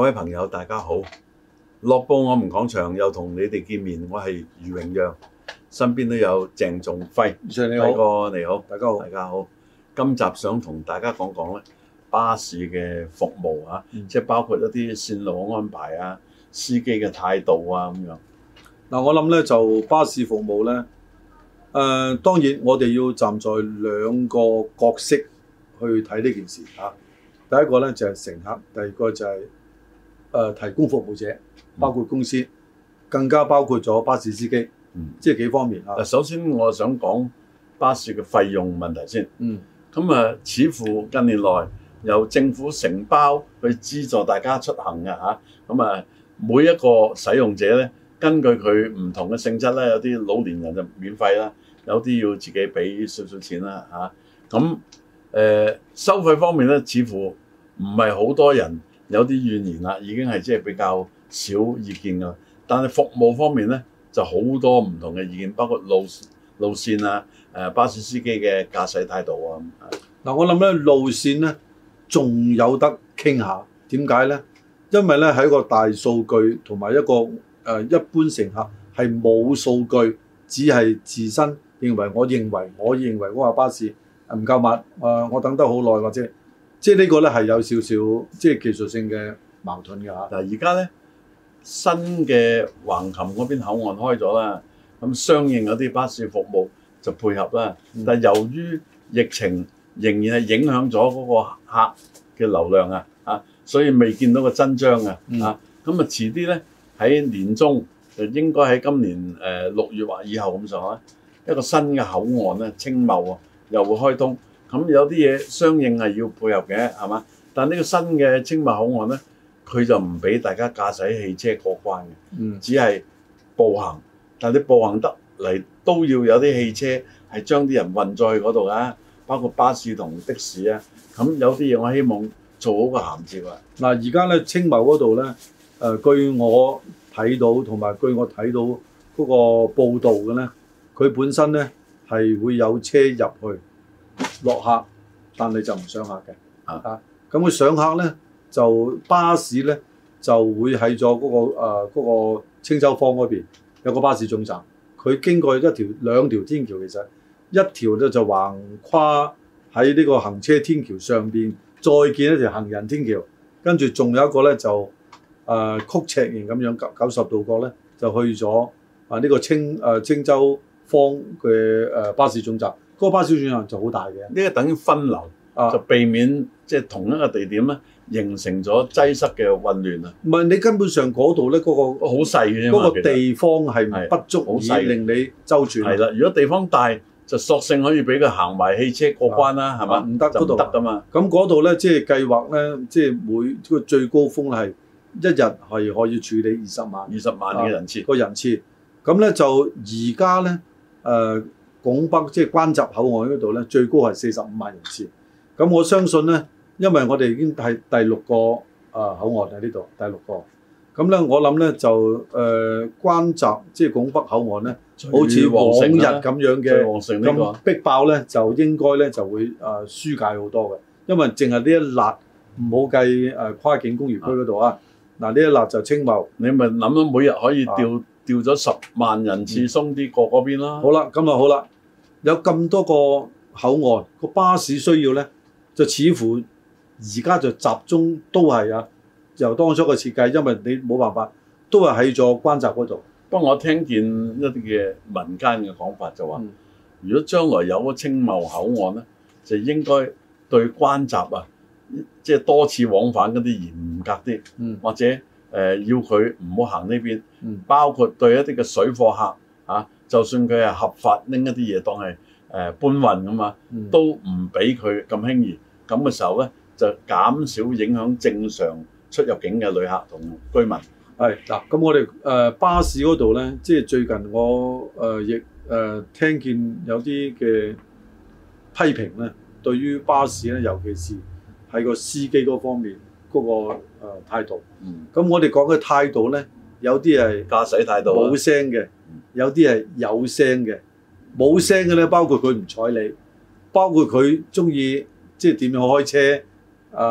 位朋友，大家好！樂報我們講場又同你哋見面，我係余榮陽，身邊都有鄭仲輝。 你好， 輝哥你好， 大家好， 大家好。今集想同大家講講咧巴士嘅服務啊，即係包括一啲線路安排啊、司機嘅態度啊咁樣。 嗱，我諗咧就巴士服務咧，當然我哋要站在兩個角色去睇呢件事嚇。第一個咧就係乘客，第二個就係提供服務者，包括公司，更加包括咗巴士司機，即係幾方面嚇。 首先我想講巴士嘅費用問題先。咁似乎近年來由政府承包去資助大家出行嘅嚇。咁每一個使用者咧，根據佢唔同嘅性質咧，有啲老年人就免費啦，有啲要自己俾少少錢啦嚇。咁收費方面咧，似乎唔係好多人有啲怨言啦，已經係即係比較少意見㗎。但係服務方面咧，就好多唔同嘅意見，包括路線啊、巴士司機嘅駕駛態度啊。 嗱，我諗咧路線咧仲有得傾下，點解咧？因為咧喺個大數據同埋一個一般乘客係冇數據，只係自身認為，我認為嗰個巴士唔夠密，我等得好耐，或者即係呢個咧係有少少即係技術性嘅矛盾㗎嚇。 嗱，而家咧新嘅橫琴嗰邊口岸開咗啦，咁相應有啲巴士服務就配合啦。但係由於疫情仍然係影響咗嗰個客嘅流量啊，所以未見到個真章啊。咁遲啲咧喺年中就應該喺今年6月或以後咁上下，一個新嘅口岸咧，青茂又會開通。咁有啲嘢相應係要配合嘅，係嘛？但呢個新嘅青茂口岸咧，佢就唔俾大家駕駛汽車過關嘅，只係步行。但係你步行得嚟都要有啲汽車係將啲人運咗去嗰度㗎，包括巴士同的士啊。咁有啲嘢我希望做好個銜接啊。 嗱，而家咧青茂嗰度咧，據我睇到同埋據我睇到嗰個報道嘅咧，佢本身咧係會有車入去落客，但係就唔上客嘅。咁佢上客咧就巴士咧就會喺咗嗰個青洲坊嗰邊有個巴士總站，佢經過兩條天橋，其實一條咧就橫跨喺呢個行車天橋上邊，再見一條行人天橋，跟住仲有一個咧就曲尺形咁樣90度角咧就去咗呢個青洲坊嘅巴士總站。嗰個巴士總站就好大嘅， 呢個等於分流，就避免即係同一個地點咧形成咗擠塞嘅混亂啊！ 唔係，你根本上嗰度咧嗰個好細嘅啫嘛， 嗰個地方係不足以令你周轉。係啦，如果地方大，就索性可以俾佢行埋汽車過關啦，係嘛？ 唔得，嗰度唔得㗎嘛。 咁嗰度咧，即係計劃咧，即係每個最高峰係一日係可以處理20萬嘅人次。 個人次。咁咧就而家咧拱北即係關閘口岸嗰度咧，最高係45萬人次。咁我相信咧，因為我哋已經係第6個口岸喺呢度，第6個。咁咧我諗咧就關閘即係拱北口岸咧，好似往日咁樣嘅咁逼爆咧，就應該咧就會疏解好多嘅。因為淨係呢一粒唔好計跨境工業區嗰度啊。嗱，呢一粒就青茂， 你咪諗到每日可以調咗10萬人次鬆啲過嗰邊啦。 好啦，咁啊好啦。有咁多個口岸，個巴士需要咧，就似乎而家就集中都係由當初嘅設計，因為你冇辦法，都係喺咗關閘嗰度。 不過我聽見一啲嘅民間嘅講法就話，如果將來有個青茂口岸咧，就應該對關閘即係多次往返嗰啲嚴格啲，或者要佢唔好行呢邊，包括對一啲嘅水貨客就算佢係合法拎一啲嘢當係搬運㗎嘛，都唔俾佢咁輕易。咁嘅時候咧，就減少影響正常出入境嘅旅客同居民。 係嗱，咁我哋巴士嗰度咧，即係最近我亦聽見有啲嘅批評咧，對於巴士咧，尤其是喺個司機嗰方面嗰個態度。咁我哋講嘅態度咧，有啲係駕駛態度冇聲嘅。有啲係有聲嘅，冇聲嘅咧，包括佢唔睬你，包括佢中意即係點樣開車，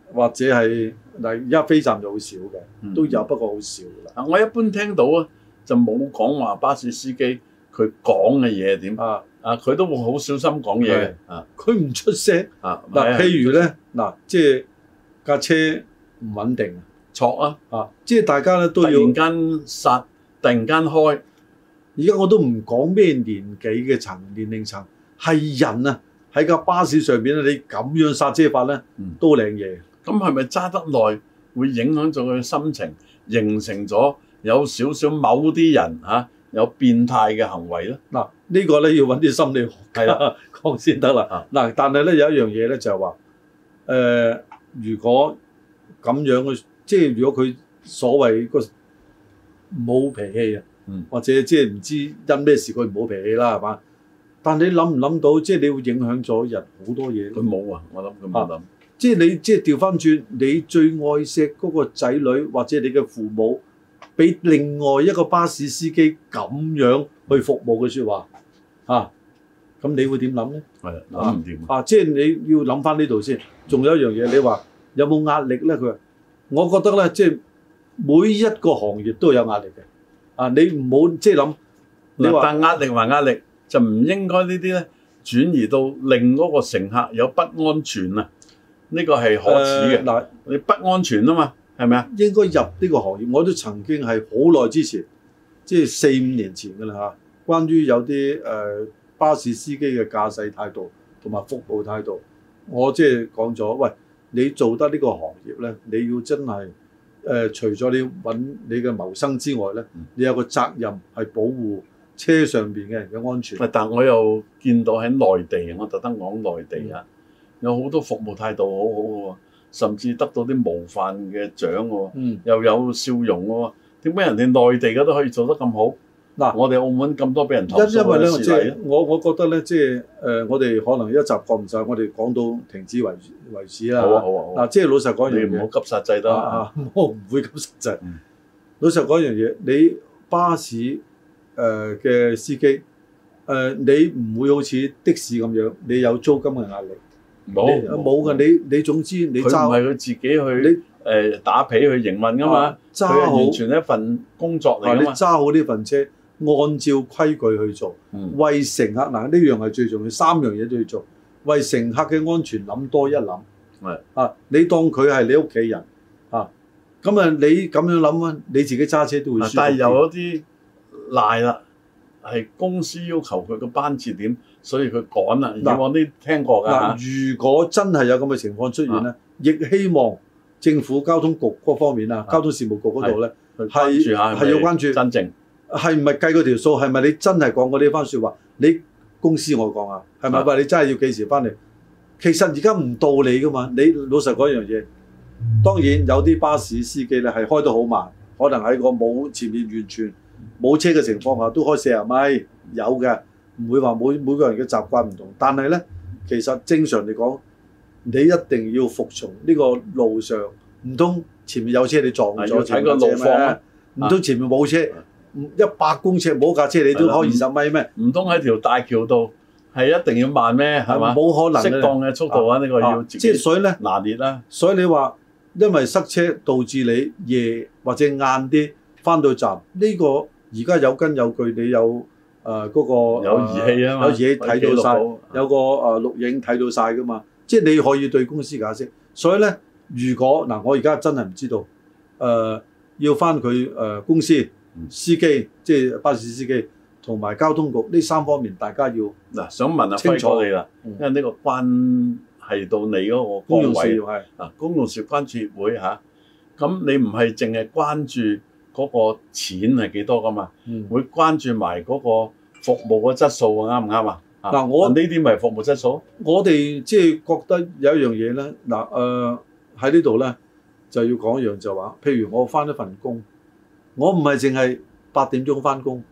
或者係嗱，而家飛站就好少嘅，都有，不過好少㗎啦。 我一般聽到啊，就冇講話巴士司機佢講嘅嘢點佢都會好小心講嘢嘅佢唔出聲嗱，譬如咧嗱，即係架車唔穩定， 錯即係大家咧都要突然間剎，突然間開。 而家我都唔講咩年紀嘅年齡層，係人啊喺架巴士上邊咧，你咁樣剎車法咧，都靚嘢。 咁係咪揸得耐會影響咗佢嘅心情，形成咗有少少某啲人有變態嘅行為咧？ 嗱，呢個咧要揾啲心理學家講先得啦。嗱，但係咧有一樣嘢咧就係話，如果咁樣嘅，即係如果佢所謂個冇脾氣啊，或者即係唔知因咩事佢冇脾氣啦，係嘛？但你諗唔諗到，即係你會影響咗人好多嘢。 佢冇啊，我諗佢冇諗。 即係你即係調翻轉，你最愛錫嗰個仔女或者你嘅父母，俾另外一個巴士司機咁樣去服務嘅説話，咁你會點諗咧？ 係諗唔掂即係你要諗翻呢度先。仲有一樣嘢，你話有冇壓力咧？佢話，我覺得咧，即係每一個行業都有壓力嘅。你唔好即係諗，你話但壓力還壓力，就唔應該呢啲咧轉移到令嗰個乘客有不安全啊！呢個係可恥嘅。你不安全啊嘛，係咪啊？ 應該入呢個行業，我都曾經係好耐之前，即係4-5年前㗎啦嚇。關於有啲巴士司機嘅駕駛態度同埋服務態度，我即係講咗，喂，你做得呢個行業咧，你要真係除咗你揾你嘅謀生之外咧，你有個責任係保護車上邊嘅人嘅安全。 但我又見到喺內地，我特登講內地有好多服務態度好好嘅，甚至得到啲模範嘅獎喎，又有笑容喎。點解人哋內地嘅都可以做得咁好？我哋澳門咁多俾人投訴嘅事例。 因為咧，我覺得咧，即係我哋可能一集講唔晒，我哋講到停止為止啦。好。即係老實講一樣嘢， 你唔好急剎掣得。 我唔會急剎掣。老實講一樣嘢，你巴士嘅司機你唔會好似的士咁樣，你有租金嘅壓力。冇㗎，你總之你揸， 佢唔係佢自己去打皮去營運㗎嘛，佢係完全一份工作嚟㗎嘛。 你揸好呢份車，按照規矩去做，為乘客呢樣係最重要，3樣嘢都要做，為乘客嘅安全諗多一諗。你當佢係你屋企人咁你咁樣諗啊，你自己揸車都會舒服。 但係有啲賴啦，係公司要求佢個班次點，所以佢趕啦。以往啲聽過㗎。 如果真係有咁嘅情況出現咧，亦希望政府交通局嗰方面交通事務局嗰度咧係要關注真正係唔係計嗰條數，係咪你真係講過呢番説話？你公司我講係咪話你真係要幾時翻嚟？其實而家唔到你㗎嘛。你老實講一樣嘢，當然有啲巴士司機咧係開得好慢，可能喺個冇前面完全冇車嘅情況下都開40米，有嘅，唔會話每個人嘅習慣唔同。但係咧，其實正常嚟講，你一定要服從呢個路上，唔通前面有車你撞咗前面架車咩？唔通前面冇車，100公尺冇架車你都開20米咩？ 唔通喺條大橋度係一定要慢咩？係嘛？ 冇可能適當嘅速度呢個要自己所以咧拿捏啦。 所以你話因為塞車導致你夜或者晏啲翻到站，呢個而家有根有據，你有嗰個有儀器啊嘛， 有嘢睇到晒，有個錄影睇到晒噶嘛，即係你可以對公司解釋。所以咧，如果我而家真係唔知道要翻佢公司司機，即係巴士司機同埋交通局呢3方面，大家要想問下輝哥你啦，因為呢個關係到你嗰個崗位公用事業關注協會咁你唔係淨係關注嗰個錢係幾多噶嘛？會關注埋嗰個服務嘅質素啱唔啱啊？我呢啲咪服務質素。我哋即係覺得有一樣嘢咧， 喺呢度咧就要講一樣就話，譬如我翻一份工，我唔係淨係8點鐘翻工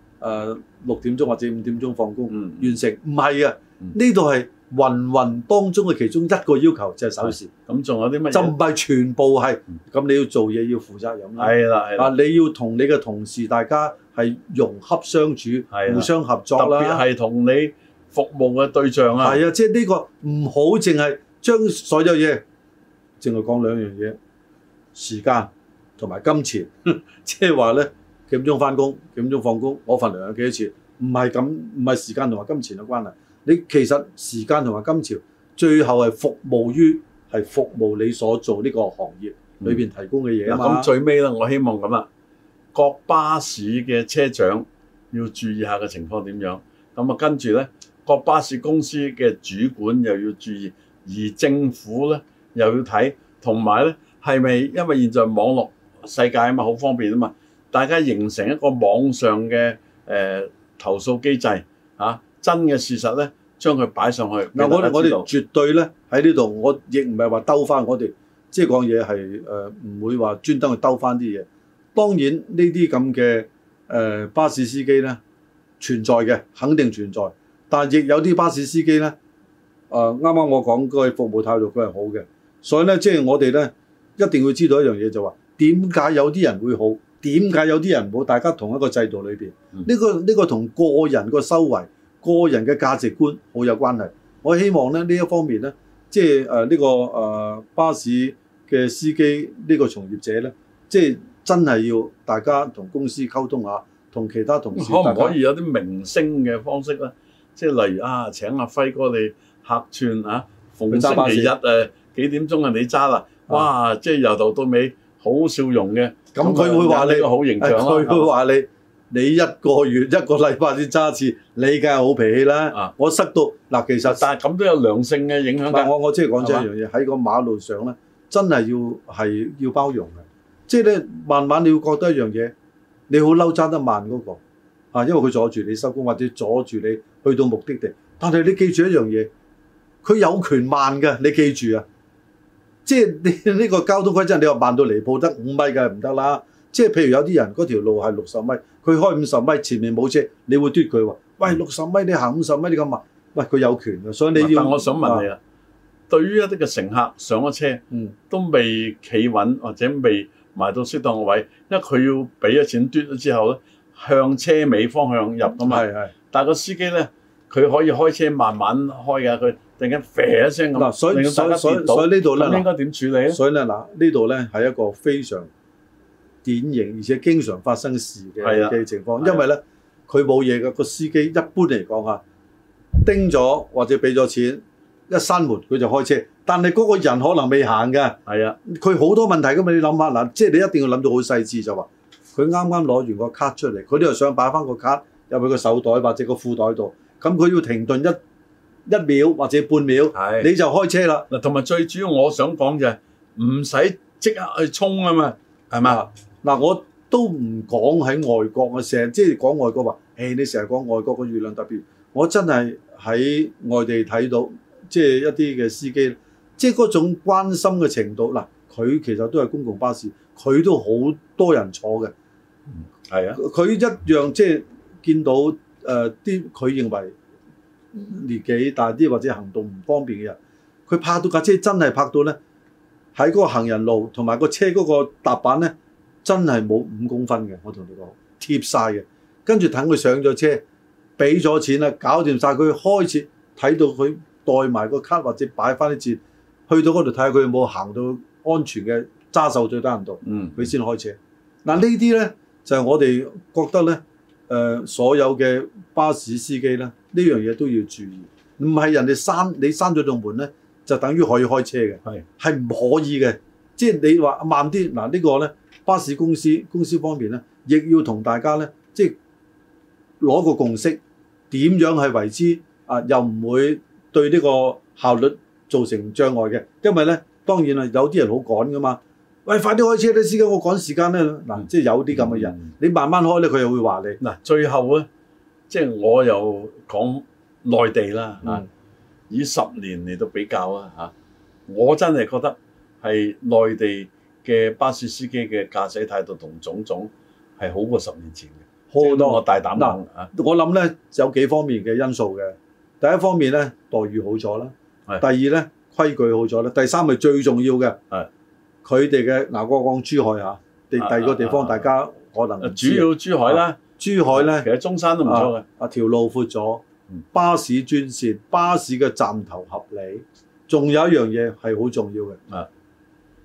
，6點鐘或者5點鐘放工完成，唔係啊，呢度係芸當中嘅其中一個要求就係守時。咁仲有啲乜嘢？就唔係全部係。咁你要做嘢要負責任啦。係啦。你要同你嘅同事大家係融洽相處，互相合作啦。特別係同你服務嘅對象啊。係啊，即係呢個唔好淨係將所有嘢淨係講兩樣嘢，時間同埋金錢，即係話咧幾點鐘翻工，幾點鐘放工，我份糧有幾多錢？唔係咁，唔係時間同埋金錢嘅關係。你其實時間同埋金錢最後係服務你所做呢個行業裏邊提供嘅嘢啊嘛。 咁最尾咧，我希望咁啦，各巴士嘅車長要注意下嘅情況點樣。咁啊，跟住咧，各巴士公司嘅主管又要注意，而政府咧又要睇，同埋咧係咪因為現在網絡世界啊嘛，好方便啊嘛，大家形成一個網上嘅投訴機制真嘅事實咧，將佢擺上去。嗱，我哋絕對咧喺呢度，我亦唔係話兜翻我哋，即係講嘢係唔會話專登去兜翻啲嘢。當然呢啲咁嘅巴士司機咧存在嘅，肯定存在。但係亦有啲巴士司機咧，啱啱我講佢服務態度佢係好嘅，所以咧即係我哋咧一定要知道一樣嘢就話，點解有啲人會好，點解有啲人唔好？大家同一個制度裏邊，呢個同個人個修為、個人嘅價值觀好有關係。我希望咧呢一方面咧，即係呢個巴士嘅司機呢個從業者咧，即係真係要大家同公司溝通下，同其他同事可唔可以有啲明星嘅方式咧？即係例如請阿輝哥你客串逢星期日幾點鐘你揸啦？哇！即係由頭到尾好笑容嘅。 咁佢會話你好形象啦。 佢會話你一個月一個禮拜先揸一次，你梗係好脾氣啦。我塞到嗱，其實但係咁都有良性嘅影響。 但係我即係講真一樣嘢，喺個馬路上咧，真係要包容嘅。即係咧，慢慢你會覺得一樣嘢，你好嬲揸得慢嗰個因為佢阻住你收工或者阻住你去到目的地。但係你記住一樣嘢，佢有權慢嘅，你記住啊！即係你呢個交通規則，你話慢到離譜得5米嘅唔得啦。即係譬如有啲人嗰條路係60米，佢開50米，前面冇車，你會嘟佢話：喂，60米你行50米你咁慢，喂佢有權嘅，所以你要。 但我想問你對於一啲嘅乘客上咗車，都未企穩或者未埋到適當嘅位，因為佢要俾咗錢嘟咗之後咧，向車尾方向入㗎嘛。但係個司機咧，佢可以開車慢慢開㗎，佢突然間啡一聲咁， 所以呢度咧， 應該點處理咧？ 所以咧呢度咧係一個非常典型而且經常發生事嘅情況，因為咧佢冇嘢嘅，個司機一般嚟講叮咗或者俾咗錢，一閂門佢就開車，但係嗰個人可能未行嘅。佢好多問題㗎嘛，你諗下嗱，即係你一定要諗到好細緻就話，佢啱啱攞完個卡出嚟，佢都係想擺翻個卡入去個手袋或者個褲袋度，咁佢要停頓一秒或者半秒，你就開車啦。 嗱，同埋最主要我想講就係唔使即刻去衝啊嘛，係嘛？ 嗱，我都唔講喺外國，我成日即係講外國話，你成日講外國個月亮特別，我真係喺外地睇到，即係一啲嘅司機，即係嗰種關心嘅程度。嗱，佢其實都係公共巴士，佢都好多人坐嘅。佢一樣即係見到啲佢認為年紀大啲或者行動唔方便嘅人，佢泊到架車真係泊到咧，喺嗰個行人路同埋個車嗰個踏板咧，真係冇5公分嘅。我同你講貼晒嘅，跟住等佢上咗車，俾咗錢啦，搞掂晒，佢開始睇到佢袋埋個卡或者擺翻啲錢，去到嗰度睇下佢有冇行到安全嘅揸手最低限度，佢先開車。嗱，呢啲咧就係我哋覺得咧，所有嘅巴士司機咧，呢樣嘢都要注意，唔係人哋你閂咗道門咧，就等於可以開車嘅，係唔可以嘅。即係你話慢啲，嗱呢個咧巴士公司方面咧，亦要同大家咧，即係攞個共識，點樣係為之又唔會對呢個效率造成障礙嘅。因為咧，當然有啲人好趕噶嘛。喂，快啲開車啦，司機，我趕時間咧。嗱，即係有啲咁嘅人，你慢慢開咧，佢又會話你。 嗱，最後咧，即係我又講內地啦以10年嚟到比較我真係覺得係內地嘅巴士司機嘅駕駛態度同種種係好過10年前嘅，好多。我大膽講我諗咧有幾方面嘅因素嘅。第一方面咧，待遇好咗啦，第二咧，規矩好咗啦，第三係最重要嘅。佢哋嘅我講珠海第二個地方大家可能主要珠海啦， 珠海咧其實中山都唔錯嘅。 條路闊咗，巴士專線，巴士嘅站頭合理，仲有一樣嘢係好重要嘅。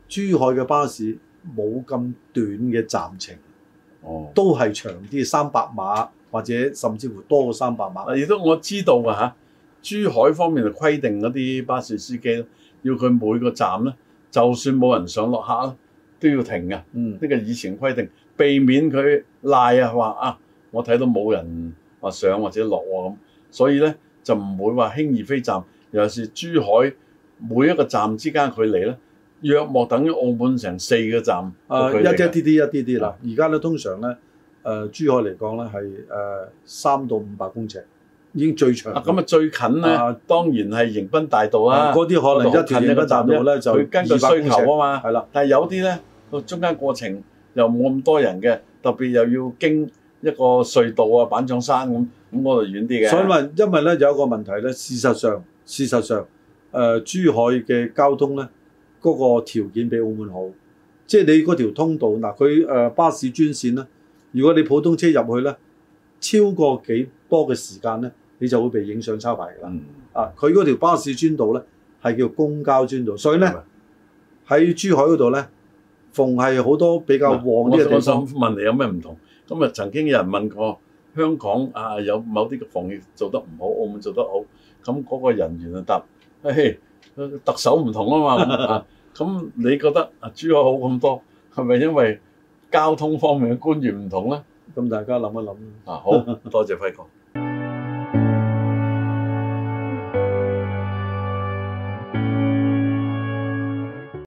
珠海嘅巴士冇咁短嘅站程，都係長啲300碼或者甚至乎多過300碼。 亦都我知道㗎嚇，珠海方面就規定嗰啲巴士司機要佢每個站咧，就算冇人上落客都要停嘅。呢個以前規定，避免佢賴啊話啊，我睇到冇人話上或者落喎咁，所以咧就唔會話輕易飛站。尤其是珠海每一個站之間距離咧，約莫等於澳門成4個站。一啲啲啦。而家咧通常咧，珠海嚟講咧係3到500公尺，已經最長。咁最近咧，當然係迎賓大道啦。 嗰啲可能一條迎賓大道咧就佢根據需求啊嘛。 係啦， 但係有啲咧個中間過程又冇咁多人嘅，特別又要經一個隧道啊、板漲山咁嗰度遠啲嘅。 所以因為咧有一個問題咧，事實上，珠海嘅交通咧嗰個條件比澳門好，即係你嗰條通道嗱，佢巴士專線咧，如果你普通車入去咧，超過幾多嘅時間咧，你就會被影相抄牌㗎啦。佢嗰條巴士專道咧係叫公交專道，所以咧喺珠海嗰度咧，逢係好多比較旺啲嘅地方。 我想問你有咩唔同？咁啊曾經有人問過香港有某啲嘅防疫做得唔好，澳門做得好，咁嗰個人員就答：嘿，特首唔同啊嘛。咁你覺得珠海好咁多，係咪因為交通方面嘅官員唔同咧？ 咁大家諗一諗。 好多謝輝哥。